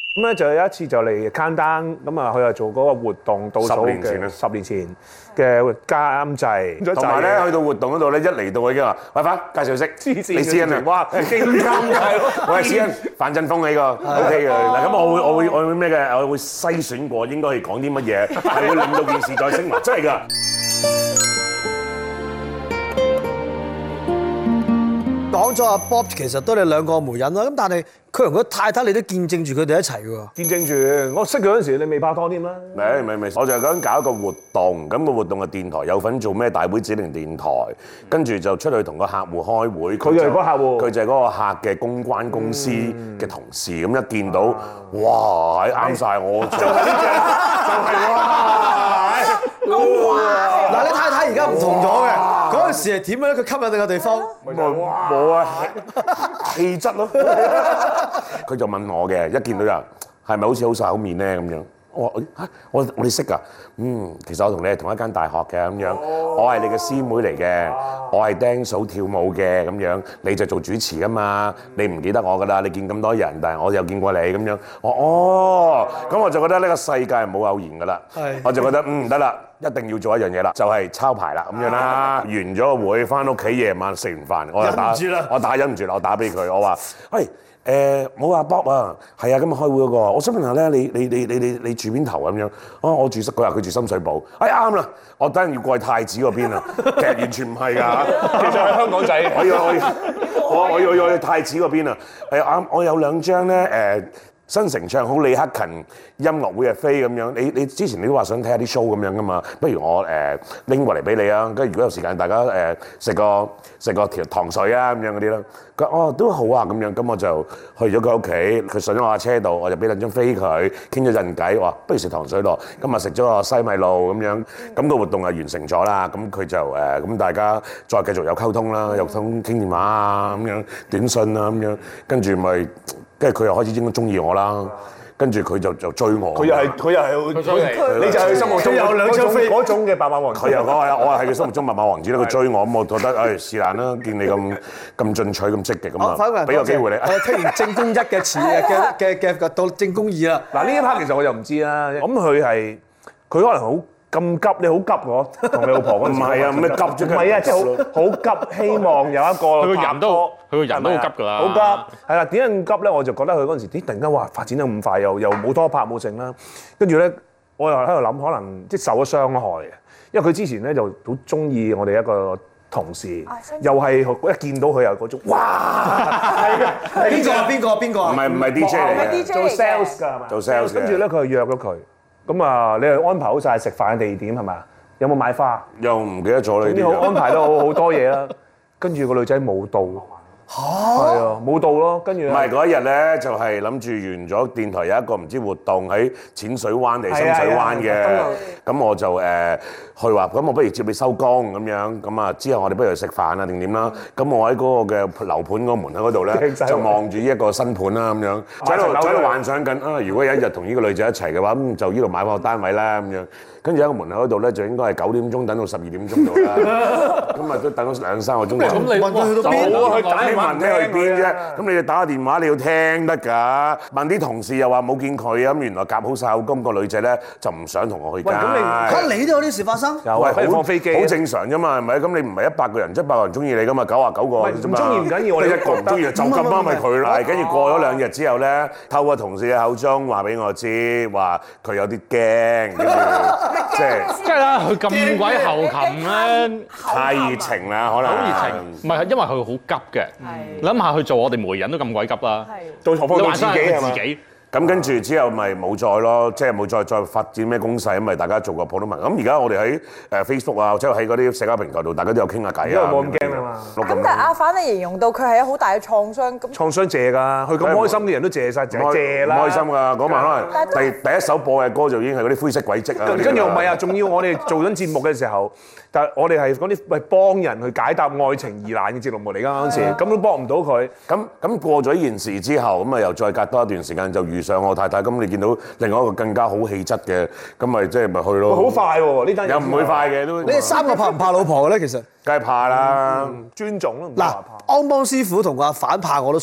咁咧就有一次就嚟 countdown，咁啊佢又做嗰個活動倒數 10年前啊 10年前嘅監製， 同埋咧去到活動嗰度咧，一嚟到已經話：喂，快介紹識，李思恩啊！ 哇，勁監製喎！ 喂，思恩，范振鋒呢個 OK 嘅。嗱，咁我會咩嘅？我會篩選過應該係講啲乜嘢，係會令到件事再升華，真係㗎。 講咗阿 Bob 其實都係兩個媒人啦，咁但係佢同佢太太你都見證住佢哋一齊喎。 見證住，我識佢嗰陣時你未拍拖添啦。 未，我就係想搞一個活動，咁個活動嘅電台有份做咩大會指定電台，跟住就出去同個客戶開會。 佢就係嗰個客戶， 佢就係嗰個客嘅公關公司嘅同事，咁一見到，哇，啱晒我，就係呢隻，就係哇！ 嗱，你太太而家唔同咗嘅。嗰陣時係點樣咧？佢吸引你嘅地方冇啊，氣質咯。佢就問我嘅，一見到人係咪好似好晒口面咧咁樣？我哋識㗎，其實我同你係同一間大學嘅咁樣，我係你嘅師妹嚟嘅，我係釘嫂跳舞嘅咁樣，你就做主持㗎嘛，你唔記得我㗎啦，你見咁多人，但係我又見過你咁樣，咁我就覺得呢個世界係冇偶然㗎啦，我就覺得得啦。一定要做一樣嘢啦，就係抄牌啦咁樣啦。完咗個會，翻屋企夜晚食完飯，我就忍唔住啦，我打俾佢，我話：喂，冇阿 Bob 啊，係啊，今日開會嗰個，我想問下咧，你住邊頭咁樣？我住佢話佢住深水埗，啱啦，我等陣要過去太子嗰邊啊，其實完全唔係㗎， 其實係香港仔， 我要去太子嗰邊啊，啱，我有2張咧新城唱好李克勤音樂會嘅飛咁樣，你之前你都話想睇下啲 show 咁樣噶嘛？不如我拎過嚟俾你啊！跟住如果有時間，大家食個條糖水啊咁樣嗰啲啦。佢話都好啊咁樣，咁我就去咗佢屋企，佢上咗我架車度，我就俾2張飛佢，傾咗陣偈，話不如食糖水咯。今日食咗個西米露咁樣，咁個活動係完成咗啦。咁佢就咁大家再繼續有溝通啦，有傾電話啊咁樣，短信啊咁樣，跟住咪。跟住佢又開始應該中意我啦，跟住佢就追我。 佢又係，你就係佢心目中有2張飛嗰種嘅白馬王子。 佢又講係我係佢心目中白馬王子啦。佢追我咁，我覺得是但啦。見你咁進取咁積極咁啊，俾個機會你。 我聽完正宮1嘅詞嘅到正宮2啦。 嗱呢一 part 其實我就唔知啦。咁佢可能好。咁急，你好急喎，同你老婆嗰陣時。 唔係啊，咩急啫？ 唔係啊，即係好急，希望有一個。 佢個人都好急㗎啦。 好急，係啦。點解咁急咧？我就覺得佢嗰陣時，突然間哇發展得咁快，又冇拖拍冇剩啦。跟住咧，我又喺度諗，可能即係受咗傷害嘅。因為佢之前咧就好中意我哋一個同事，又係一見到佢又嗰種哇，係啊， 邊個啊？ 唔係 DJ 嚟嘅， 做 sales 㗎係嘛？ 做 sales。 跟住咧，佢就約咗佢。咁啊，你係安排好晒食飯嘅地點係咪啊？有冇買花？ 又唔記得咗你。 總之好安排得好多嘢啦。跟住個女仔冇到。係啊，冇到咯。跟住唔係嗰一日咧，就係諗住完咗電台有一個唔知活動喺淺水灣定深水灣嘅，咁我就去話，咁我不如接你收工咁樣，咁啊之後我哋不如去食飯啊定點啦？咁我喺嗰個嘅樓盤嗰個門口嗰度咧，就望住一個新盤啦咁樣，就喺度幻想緊啊！如果有一日同呢個女仔一齊嘅話，咁就呢度買翻個單位啦咁樣。跟住喺個門口嗰度咧，就應該係9點鐘等到12點鐘度啦。咁啊都等咗2-3個鐘頭。 咁你問佢去到邊？ 我去打電話，問聽去邊啫？咁你哋打個電話你要聽得㗎。問啲同事又話冇見佢咁，原來夾好晒口供，個女仔咧就唔想同我去街。 咁你都有啲事發生？ 有啊，放飛機。 好正常啫嘛，係咪？咁你唔係100個人，100個人中意你㗎嘛，99個啫嘛。 唔中意唔緊要，我哋一個唔中意就咁啱咪佢啦。跟住過咗2日之後咧，透過同事嘅口中話俾我知，話佢有啲驚，跟住即係。 梗係啦，佢咁鬼後勤咧， 太熱情啦，可能好熱情。唔係，因為佢好急嘅。諗下去做我哋媒人都咁鬼急啦， 做何況做自己係嘛？ 咁跟住之後咪冇再咯，即係冇再發展咩攻勢，咁咪大家做個普通人。咁而家我哋喺Facebook 啊，或者喺嗰啲社交平台度，大家都有傾下偈啊。因為冇咁驚啊嘛。 咁但係阿反你形容到佢係有好大嘅創傷，咁創傷謝㗎，佢咁開心啲人都謝曬，謝啦。 唔開心㗎，嗰晚可能第一首播嘅歌就已經係嗰啲灰色軌跡啊。 跟住唔係啊，仲要我哋做緊節目嘅時候，但係我哋係嗰啲幫人去解答愛情疑難嘅節目嚟㗎嗰陣時，咁都幫唔到佢。 咁過咗呢件事之後，咁啊又再隔多一段時間就遇上我太太，咁你見到另外一個更加好氣質嘅，咁咪即係咪去咯？ 好快喎呢單嘢。 又唔會快嘅都。 你哋3個怕唔怕老婆嘅咧？其實梗係怕啦， 尊重咯。 嗱，安邦師傅同阿反怕我都信。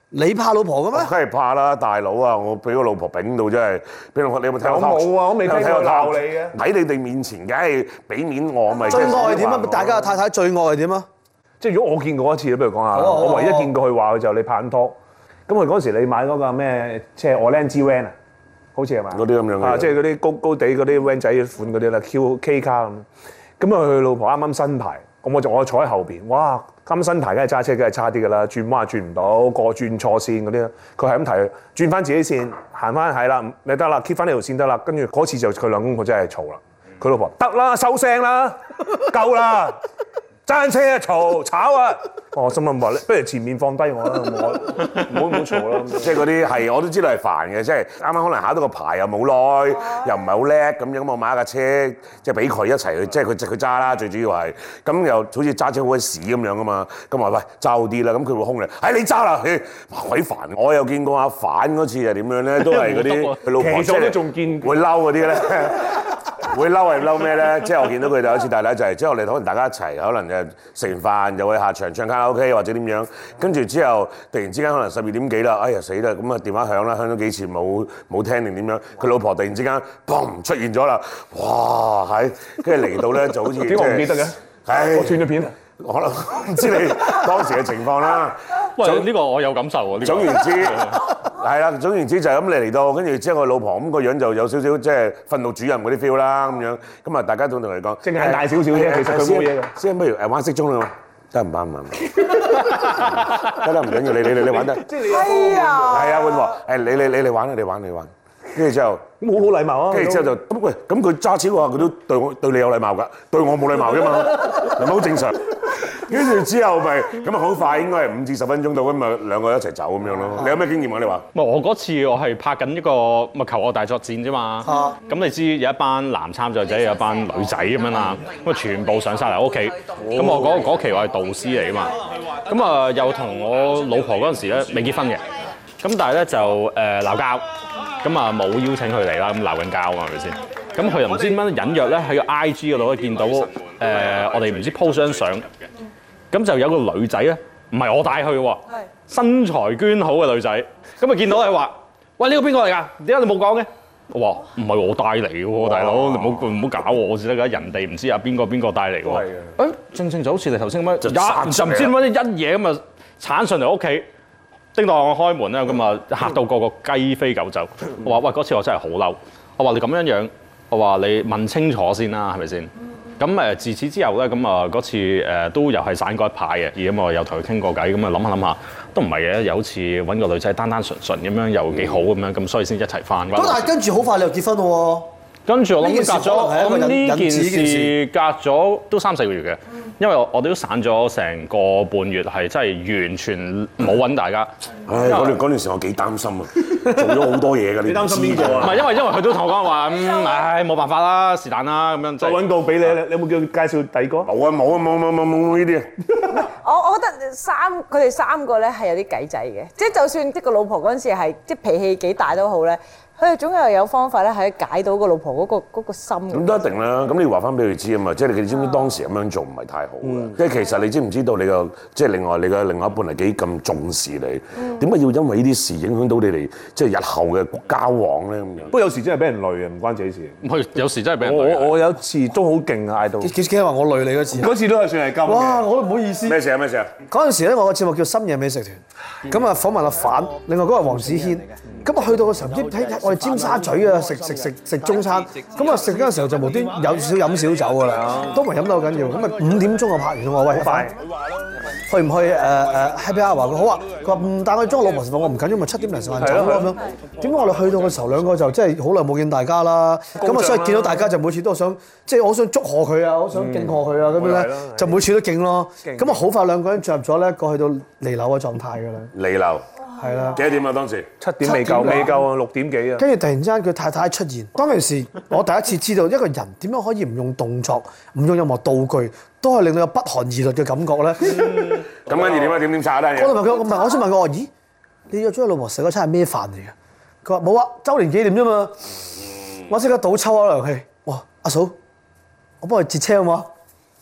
你怕老婆嘅咩？ 梗係怕啦，大佬啊！我俾個老婆丙到真係，俾我你有冇睇我冇啊，我未聽過鬧你嘅。 喺你哋面前，梗係俾面我咪。 最惡係點啊？大家嘅太太最惡係點啊？ 即係如果我見過一次，不如講下。 好啊我唯一見過佢話佢就你拍緊拖。咁佢嗰時你買嗰個咩，即係 Orange Van 啊，好似係嘛？ 嗰啲咁樣嘅啊，即係嗰啲高高地嗰啲 van 仔款嗰啲啦，K 卡咁。咁啊，佢老婆啱啱新牌，我坐喺後邊，哇！啱新牌梗係揸車，梗係差啲㗎啦，轉彎轉唔到，過轉錯線嗰啲，佢係咁提，轉翻自己線，行翻係啦，你得啦 keep 翻呢條線得啦。跟住嗰次就佢兩公婆真係嘈啦，佢老婆得啦，收聲啦，夠啦。爭車啊，嘈炒啊！我心諗話，不如前面放低我啦，唔好嘈啦。 即係嗰啲係我都知道係煩嘅，即係啱啱可能考到個牌又冇耐，又唔係好叻咁樣，我買一架車即係俾佢一齊去，即係佢揸啦，最主要係咁又好似揸車好鬼屎咁樣噶嘛。咁話喂揸好啲啦，咁佢會兇你，你揸啦，鬼煩！我又見過阿反嗰次係點樣咧，都係嗰啲佢老婆其實我都仲見會嬲嗰啲咧。會嬲係嬲咩咧？即係我見到佢哋有一次大禮就係，即係我哋可能大家一齊，可能誒食完飯又去下場唱卡拉 OK 或者點樣，跟住之後突然之間可能12點幾啦，哎呀死啦！咁啊電話響啦，響咗幾次冇聽定點樣？佢老婆突然之間砰出現咗啦，哇係，跟住嚟到咧就好似點解我唔記得嘅？我斷咗片。 可能唔知你當時嘅情況啦。 喂，呢個我有感受喎。 總言之係啦，總言之就係咁你嚟到，跟住之後個老婆咁個樣就有少少即係訓導主任嗰啲 feel 啦咁樣。咁啊大家都同佢講， 淨係大少少啫，其實佢冇嘢嘅。 先不如玩骰盅啦，得唔得唔得唔緊要，你玩得。 係啊。 係啊，會話你嚟玩啦，你玩。跟住之後咁好禮貌啊！ 跟住之後就咁喂，咁佢揸錢嘅話，佢都對你有禮貌㗎，對我冇禮貌㗎嘛，係咪好正常？跟住之後咪咁啊，好快應該係5至10分鐘到咁啊，兩個一齊走咁樣咯。你有咩經驗啊？你話？ 我嗰次我係拍緊一個咪求愛大作戰啫嘛。咁你知有一班男參賽者，有一班女仔咁樣啦，咁啊全部上晒嚟屋企。咁我嗰期我係導師嚟㗎嘛。咁啊又同我老婆嗰陣時咧未結婚嘅。咁但係咧就鬧交。咁啊冇邀請佢嚟啦，咁鬧緊交啊嘛，係咪先？咁佢又唔知點樣隱約咧喺個 IG 嗰度見到我哋唔知 post 張相，咁就有個女仔咧，唔係我帶去喎，身材娟好嘅女仔，咁啊見到你話，喂，呢個邊個嚟㗎？點解你冇講嘅？我話唔係我帶嚟嘅喎，大佬，你唔好搞我先得㗎，人哋唔知啊邊個帶嚟喎？誒，正正就好似你頭先咁樣，就唔知點解一嘢咁啊鏟上嚟屋企。叮當我開門咧，咁啊嚇到個雞飛狗走。我話喂，嗰次我真係好嬲。我話你咁樣，我話你問清楚先啦，係咪先？咁自此之後咧，咁啊嗰次都又係散過一排嘅，咁我又同佢傾過偈，咁啊諗下都唔係嘅，又好似揾個女仔單單純純咁樣又幾好咁樣，咁所以先一齊翻。 咁但係跟住好快你又結婚喎。 跟住我諗隔咗，咁呢件事隔咗都3、4個月嘅，因為我哋都散咗成個半月，係真係完全冇揾大家。 唉，嗰段時我幾擔心啊，做咗好多嘢㗎。你擔心邊個啊？ 唔係因為佢都同我講話，唉冇辦法啦，是但啦咁樣。 再揾個俾你，你有冇叫佢介紹第二個？ 冇呢啲。 我覺得佢哋3個咧係有啲計仔嘅，即係就算即個老婆嗰陣時係即脾氣幾大都好咧。佢哋總有方法咧，係解到個老婆嗰個心。 咁都一定啦，咁你要話翻俾佢知啊嘛，即係你知唔知當時咁樣做唔係太好嘅？即係其實你知唔知道你個即係你嘅另外一半係幾咁重視你？點解要因為呢啲事影響到你哋即係日後嘅交往咧咁樣？ 不過有時真係俾人累啊，唔關自己事。 唔係，有時真係俾人累。 我有一次都好勁啊，嗌到。 幾話我累你嗰次？ 嗰次都係算係金。 哇！我都唔好意思。 咩事啊？ 嗰陣時咧，我個節目叫深夜美食團，咁啊訪問阿反，另外嗰個係黃子軒。咁啊去到嘅時候，我哋尖沙咀啊食中餐，咁啊食嗰陣時候就無端有少飲少酒㗎啦，都唔係飲得好緊要。咁啊5點鐘就拍完啦，我話喂快，去唔去Happy Hour？佢好啊，佢話但係我裝我老婆食飯，我唔緊要，咪7點零食飯走咯咁樣。點解我哋去到嘅時候兩個就真係好耐冇見大家啦，咁啊所以見到大家就每次都想即係我想祝賀佢啊，我想敬賀佢啊咁樣咧，就每次都敬咯。咁啊好快兩個人進入咗咧過去到離樓嘅狀態㗎啦。 離樓。 係啦， 幾多點啊？當時 7點未夠啊，6點幾啊。 跟住突然之間佢太太出現，當其時我第一次知道一個人點樣可以唔用動作、唔用任何道具，都係令到有不寒而栗嘅感覺咧。 咁跟住點啊？點炒單嘢？ 我問佢，唔係我先問佢話：咦，你約咗你老婆食嗰餐係咩飯嚟嘅？佢話冇啊，週年紀念啫嘛。我即刻倒抽啊涼氣，哇！阿嫂，我幫佢截車好冇？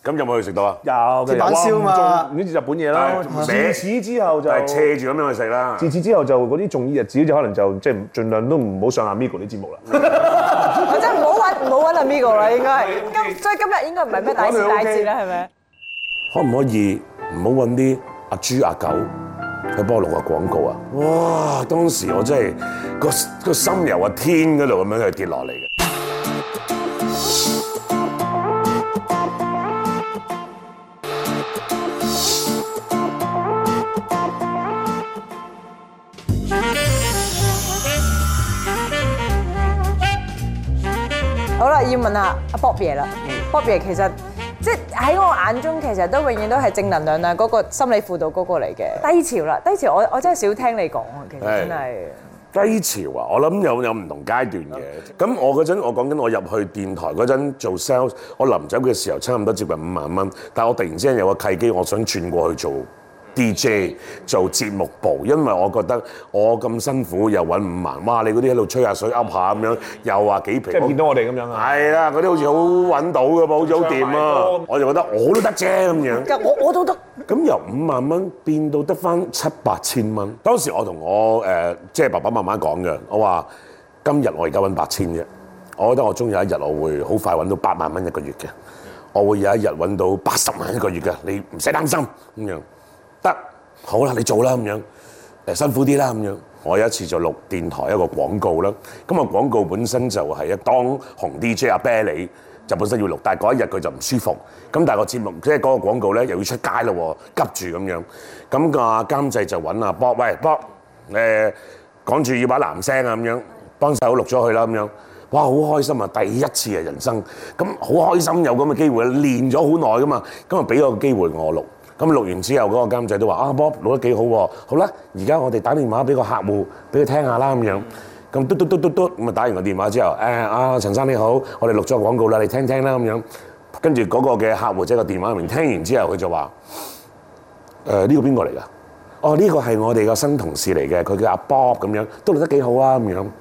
咁有冇去食到啊？ 有鐵板燒嘛唔知日本嘢啦。自此之後就係斜住咁樣去食啦。 自此之後就嗰啲重要日子就可能就即係盡量都唔好上阿 Migo 啲節目啦。 我真係唔好揾阿 Migo 啦，應該係。所以今日應該唔係咩大時大節啦，係咪？ 可唔可以唔好揾啲阿豬阿狗去幫我錄個廣告啊？哇！當時我真係個心由個天嗰度咁樣去跌落嚟嘅。 好啦，要問下阿 Bob 爺啦。Bob 爺其實即係喺我眼中，其實都永遠都係正能量啊，嗰個心理輔導嗰個嚟嘅。低潮啦，低潮我真係少聽你講啊，其實真係。 低潮啊！我諗有唔同階段嘅。咁我嗰陣，我講緊我入去電台嗰陣做 sales，我臨走嘅時候差唔多接近5萬蚊，但係我突然之間有個契機，我想轉過去做DJ 做節目部，因為我覺得我咁辛苦又揾5萬，哇！你嗰啲喺度吹下水噏下咁樣，又話幾皮， 即係見到我哋咁樣啊？ 係啦，嗰啲好似好揾到嘅噃，好似好掂啊！我就覺得我都得啫咁樣。 我都得。 咁由5萬蚊變到得翻700-8千蚊。當時我同我即係爸爸媽媽講嘅，我話今日我而家揾8000啫，我覺得我終有一日我會好快揾到8萬蚊一個月嘅，我會有一日揾到80萬一個月嘅，你唔使擔心咁樣。得，好啦，你做啦咁樣，辛苦啲啦咁樣。我有一次就錄電台一個廣告啦，咁個廣告本身就係一當紅 DJ 阿啤梨就本身要錄，但係嗰一日佢就唔舒服，咁但係個節目即係嗰個廣告咧又要出街咯喎，急住咁樣，咁個監製就揾阿 Bob，喂 Bob，趕住要把男聲啊咁樣，幫手錄咗佢啦咁樣，哇好開心啊！第一次啊人生，咁好開心有咁嘅機會，練咗好耐噶嘛，咁啊俾個機會我錄。咁錄完之後，嗰個監製都話：啊 Bob 錄得幾好喎！好啦，而家我哋打電話俾個客戶，俾佢聽下啦咁樣。咁嘟，咁啊打完個電話之後，阿陳生你好，我哋錄咗個廣告啦，你聽聽啦咁樣。跟住嗰個嘅客戶喺個電話入面聽完之後，佢就話：呢個邊個嚟㗎？哦，呢個係我哋個新同事嚟嘅，佢叫阿 Bob 咁樣，都錄得幾好啊咁樣。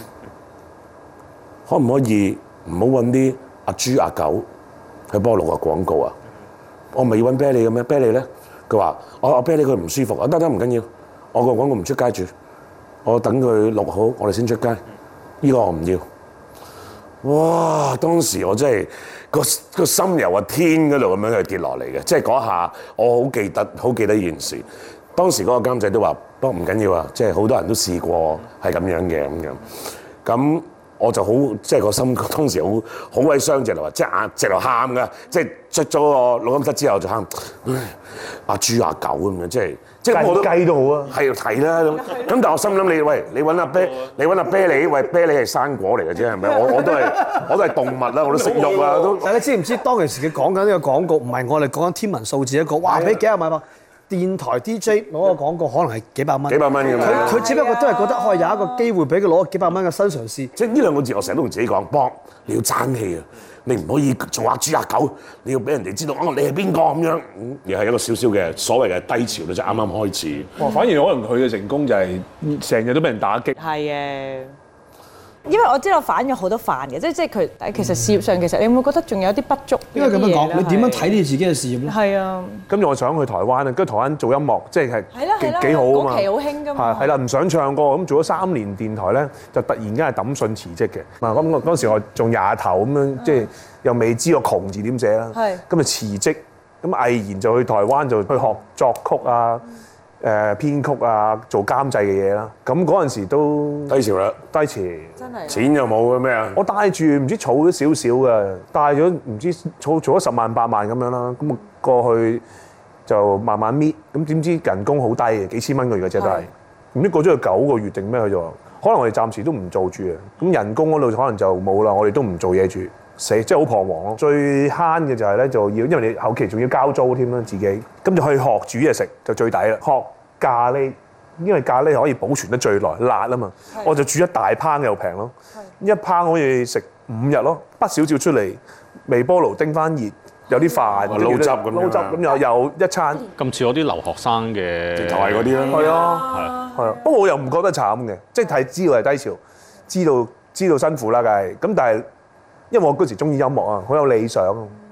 可唔可以唔好揾啲阿豬阿狗去幫我錄個廣告啊？我咪要揾啤梨嘅咩？啤梨咧，佢話：我啤梨佢唔舒服，得唔緊要，我個廣告唔出街住，我等佢錄好，我哋先出街。呢個我唔要。哇！當時我真係個心由個天嗰度咁樣去跌落嚟嘅，即係嗰下我好記得呢件事。當時嗰個監製都話：不過唔緊要啊，即係好多人都試過係咁樣嘅咁樣。咁我就好即係個心當時好鬼傷，直頭話即係直頭喊㗎，即係出咗個錄音室之後就喊，阿豬阿狗咁樣，即係我都雞都好啊， 係睇啦咁。但係我心諗你揾阿啤梨，喂啤梨係生果嚟嘅啫，係咪？我都係動物啦，我都識喐啊都。 大家知唔知當其時佢講緊呢個廣告，唔係我哋講緊天文數字一個，哇俾幾廿萬電台 DJ 攞個廣告可能係幾百蚊， 幾百蚊咁樣。 佢只不過都係覺得可以有一個機會俾佢攞幾百蚊嘅新嘗試。 即係呢兩個字，我成日都同自己講，Bob你要爭氣啊！你唔可以做阿豬阿狗，你要俾人哋知道你係邊個咁樣。又係一個少少嘅所謂嘅低潮啦，即係啱啱開始。 反而可能佢嘅成功就係成日都俾人打擊。 係嘅。因為我知道反咗好多飯嘅，即係佢其實事業上其實你會唔會覺得仲有啲不足？ 因為咁樣講，你點樣睇你自己嘅事業咧？ 係啊。 跟住我想去台灣啊，跟住台灣做音樂即係幾好啊嘛。 嗰期好興㗎嘛。 係啦，唔想唱歌咁做咗3年電台咧，就突然間係抌信辭職嘅。嗱咁嗰時我仲廿頭咁樣，即係又未知個窮字點寫啦。係。咁就辭職，咁毅然就去台灣就去學作曲啊。編曲啊，做監製嘅嘢啦，咁嗰陣時都低潮啦， 低潮， 真係錢又冇嘅咩啊？ 我帶住唔知儲咗少少嘅，帶咗唔知儲咗10萬8萬咁樣啦，咁過去就慢慢搣，咁點知人工好低嘅，幾千蚊個月嘅啫都係，唔知過咗去9個月定咩佢就話，可能我哋暫時都唔做住啊，咁人工嗰度可能就冇啦，我哋都唔做嘢住。死，即係好彷徨咯。最慳嘅就係咧，就要因為你後期仲要交租添啦，自己咁就去學煮嘢食就最抵啦。學咖喱，因為咖喱可以保存得最耐，辣啊嘛。我就煮一大烹又平咯，一烹可以食5日咯。不少照出嚟，微波爐叮翻熱，有啲飯撈汁咁樣， 撈汁咁又一餐。 咁似我啲留學生嘅台嗰啲啦。 係啊，係啊。不過我又唔覺得慘嘅，即係知道係低潮，知道辛苦啦，梗係。咁但係因為我嗰時中意音樂啊，好有理想，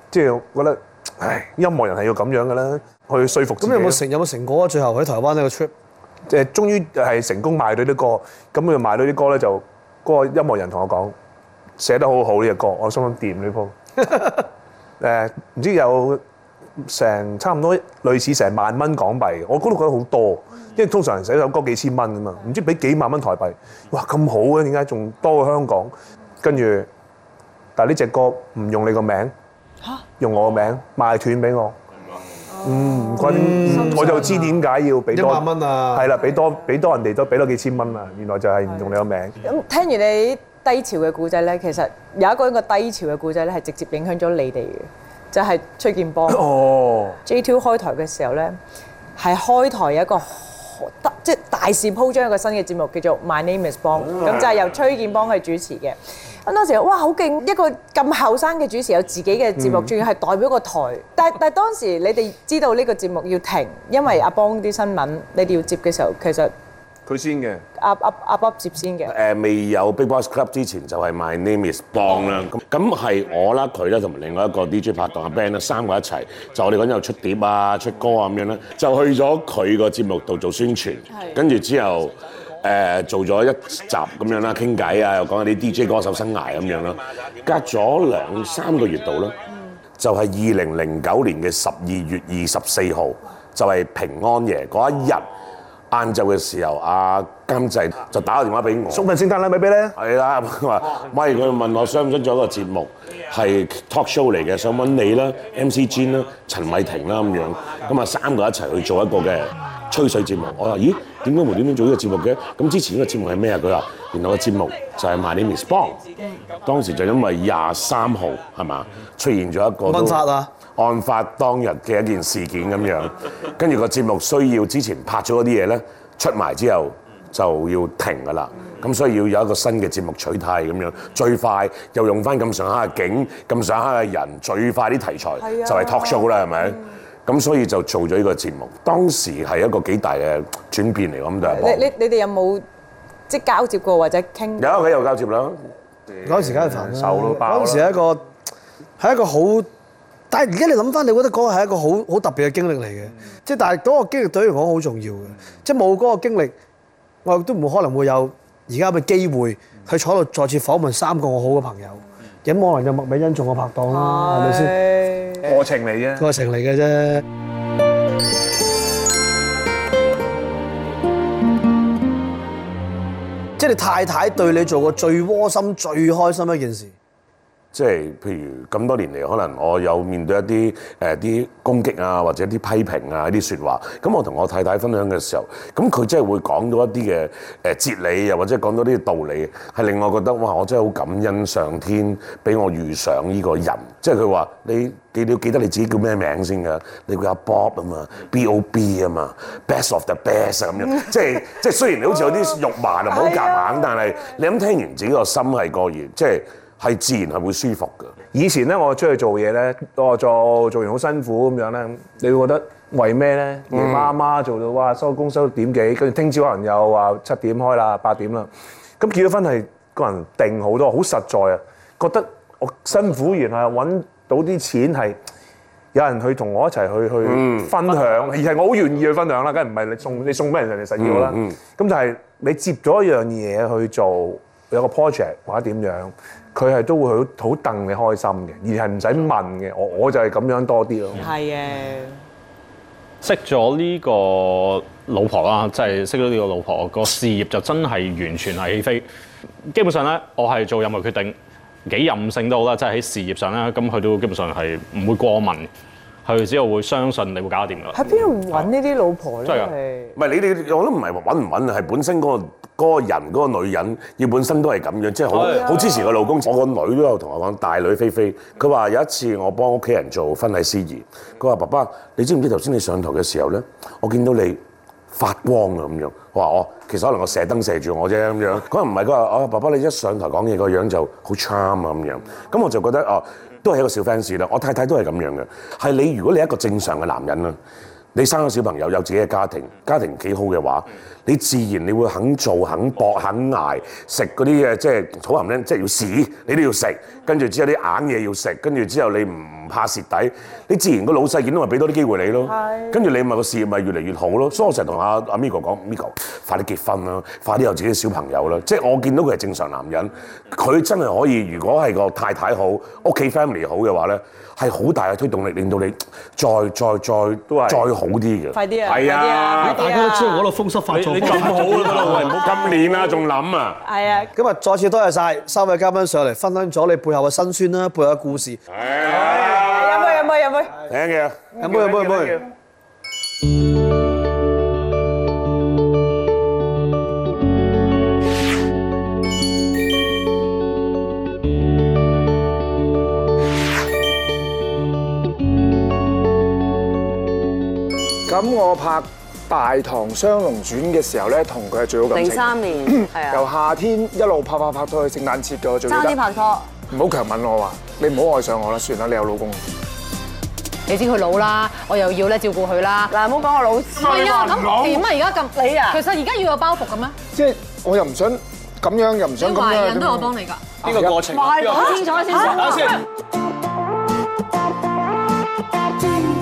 即係我覺得，唉，音樂人係要咁樣嘅啦，去説服自己。 咁有冇成果啊？最後喺台灣呢個 trip， 即係終於係成功賣到啲歌，咁佢賣到啲歌咧就嗰個音樂人同我講寫得好好呢隻歌，我心諗掂呢鋪。唔知有成差唔多類似成萬蚊港幣，我嗰度覺得好多，因為通常人寫首歌幾千蚊㗎嘛，唔知俾幾萬蚊台幣，哇咁好嘅，點解仲多過香港？跟住，但係呢隻歌唔用你個名，用我個名賣斷俾我。唔怪我就知點解要俾多 1萬蚊啊！ 係啦，俾多人哋都俾多幾千蚊啊！原來就係唔用你個名。 咁聽完你低潮嘅故仔咧，其實有一個低潮嘅故仔咧，係直接影響咗你哋嘅，就係崔建邦。 哦 J2 開台嘅時候咧，係開台有一個即係大肆鋪張一個新嘅節目，叫做 My Name Is Bong，咁就係由崔建邦去主持嘅。咁當時哇好勁，一個咁後生嘅主持有自己嘅節目，仲要係代表個台。但係當時你哋知道呢個節目要停，因為阿邦啲新聞你哋要接嘅時候，其實佢先嘅。 阿 Bob 接先嘅。 未有 Big Boys Club 之前就係 My Name Is Bong 啦。咁係我啦，佢啦，同埋另外一個 DJ 拍檔阿 Ben 啦，三個一齊。就我哋嗰陣又出碟啊、出歌啊咁樣啦，就去咗佢個節目度做宣傳。跟住之後做咗一集咁樣啦，傾偈啊，又講下啲 DJ 歌手生涯咁樣啦。隔咗2-3個月度啦，就係2009年嘅12月24號，就係平安夜嗰一日。晏晝嘅時候，阿監製就打個電話俾我， 送份聖誕禮物俾你。 係啦，佢話：喂，佢問我想唔想做一個節目，係 talk show 嚟嘅，想揾你啦、MC Jin 啦、陳偉霆啦咁樣，咁啊三個一齊去做一個嘅吹水節目。我話：咦，點解無端端做呢個節目嘅？咁之前呢個節目係咩啊？佢話：原來個節目就係 My Name Is Bong。當時就因為23號係嘛出現咗一個問法啊！ 案發當日嘅一件事件咁樣，跟住個節目需要之前拍咗嗰啲嘢咧，出埋之後就要停㗎啦。咁所以要有一個新嘅節目取態咁樣，最快又用翻咁上下嘅景、咁上下嘅人，最快啲題材就係 talk show 啦，係咪？咁所以就做咗呢個節目。當時係一個幾大嘅轉變嚟，咁就係。 你哋有冇即係交接過或者傾？ 有佢有交接啦。 嗰陣時梗係煩啦， 手都爆啦。 嗰陣時係一個好。但係而家你諗翻，你覺得嗰個係一個好特別嘅經歷嚟嘅，即係但係嗰個經歷對於我講好重要嘅，即係冇嗰個經歷，我亦都唔可能會有而家嘅機會去坐度再次訪問3個我好嘅朋友，咁可能有麥美恩做我拍檔啦，係咪先？ 過程嚟啫， 過程嚟嘅啫。即係你太太對你做過最窩心、最開心一件事。 即係譬如咁多年嚟，可能我有面對一啲啲攻擊啊，或者啲批評啊，一啲説話。咁我同我太太分享嘅時候，咁佢真係會講到一啲嘅哲理，又或者講到啲道理，係令我覺得哇！我真係好感恩上天俾我遇上呢個人。即係佢話你要記得你自己叫咩名先㗎？你叫阿 Bob 啊嘛，B.O.B 啊嘛，Best of the Best 啊咁樣。即係雖然你好似有啲肉麻啊，唔好夾硬，但係你咁聽完自己個心係過熱，即係自然係會舒服㗎。 以前咧，我出去做嘢咧，我做完好辛苦咁樣咧，你會覺得為咩咧？夜媽媽做到哇，收工收到點幾，跟住聽朝可能又話7點開啦，8點啦。咁結咗婚係個人定好多，好實在啊！覺得我辛苦完係揾到啲錢係有人去同我一齊去分享，而係我好願意去分享啦，梗係唔係你送俾人哋實要啦。咁就係你接咗一樣嘢去做，有個 project 或者點樣。佢係都會好戥你開心嘅，而係唔使問嘅。我就係咁樣多啲咯。 係嘅。 識咗呢個老婆啦，即係識咗呢個老婆，個事業就真係完全係起飛。基本上咧，我係做任何決定幾任性都好啦，即係喺事業上咧，咁佢都基本上係唔會過問，佢只係會相信你會搞得掂㗎。 喺邊度揾呢啲老婆咧？ 真係㗎。 唔係你哋，我都唔係揾唔揾，係本身嗰個人嗰個女人，要本身都係咁樣，即係好支持個老公。我個女都有同我講，大女菲菲，佢話有一次我幫屋企人做婚禮司儀，佢話爸爸，你知唔知頭先你上台嘅時候咧，我見到你發光啊咁樣。我話其實可能我射燈射住我啫咁樣。佢話唔係，佢話爸爸你一上台講嘢個樣就好 charm 啊咁樣。咁我就覺得都係一個小 fans 啦。我太太都係咁樣嘅，係你如果你係一個正常嘅男人啦。 你生咗小朋友，有自己嘅家庭，家庭幾好嘅話，你自然你會肯做、肯搏、肯捱，食嗰啲嘅即係草含咧，即係要屎，你都要食。跟住之後啲硬嘢要食，跟住之後你唔怕蝕底，你自然個老細見到咪俾多啲機會你咯。跟住你咪個事業咪越嚟越好咯。所以我成日同阿 Migo 講 ，Migo 快啲結婚啦，快啲有自己嘅小朋友啦。即係我見到佢係正常男人，佢真係可以，如果係個太太好，屋企 family 好嘅話咧，係好大嘅推動力，令到你再好啲嘅。 快啲啊！ 係啊！ 大家都知道我度風濕發作， 你咁好啦，喂，唔好今年啦，仲諗啊！ 係啊！ 今日再次多謝晒三位嘉賓上嚟分享咗你背後嘅辛酸啦，背後嘅故事。 飲杯。 聽嘅。 飲杯。 咁我拍《大唐雙龍傳》嘅時候咧，同佢係最好感情。 03年，係啊。 由夏天一路拍到去聖誕節嘅，我最記得。 爭啲拍拖。 唔好強吻我話，你唔好愛上我啦，算啦，你有老公。 你知佢老啦，我又要咧照顧佢啦。 嗱，唔好講我老師。 係啊，咁點啊？而家咁你啊？其實而家要有包袱嘅咩？ 即係我又唔想咁樣，又唔想咁樣。 懷孕都有幫你㗎。 邊個過程？ 講清楚先。